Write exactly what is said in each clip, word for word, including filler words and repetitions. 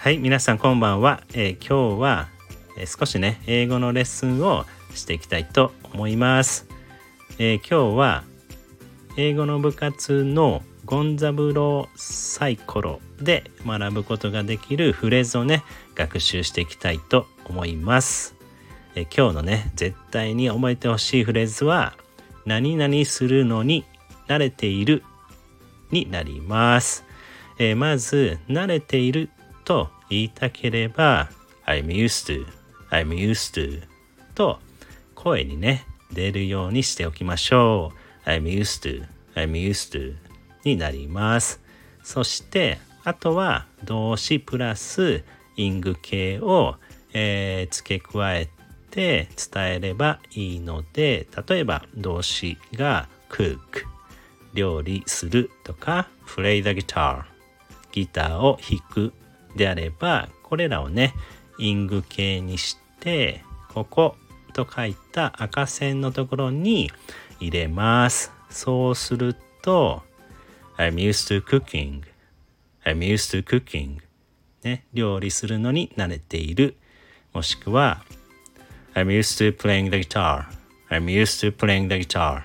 はい、皆さんこんばんは。えー今日は、えー少しね英語のレッスンをしていきたいと思います。えー今日は英語の部活のゴンザブローサイコロで学ぶことができるフレーズをね学習していきたいと思います。えー今日のね絶対に覚えてほしいフレーズは何々するのに慣れているになります。えーまず慣れていると言いたければ I'm used to I'm used to と声にね出るようにしておきましょう。 I'm used to I'm used to になります。そしてあとは動詞プラスイング形を、えー付け加えて伝えればいいので、例えば動詞が cook 料理するとか play the guitar ギターを弾くであれば、これらをねイング形にしてここと書いた赤線のところに入れます。そうすると I'm used to cooking I'm used to cooking ね、料理するのに慣れている、もしくは I'm used to playing the guitar I'm used to playing the guitar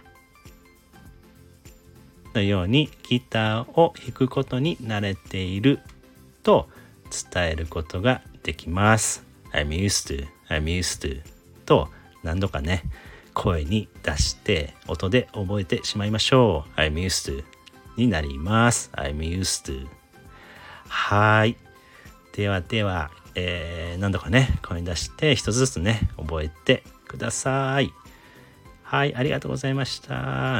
のようにギターを弾くことに慣れていると伝えることができます。 I'm used to I'm used to と何度かね声に出して音で覚えてしまいましょう。 I'm used to になります。 I'm used to。 はい、ではでは、えー、何度かね声に出して一つずつね覚えてください。はい、ありがとうございました。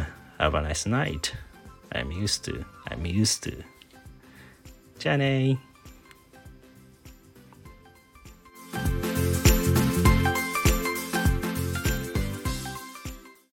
Have a nice night。I'm used to I'm used to じゃあね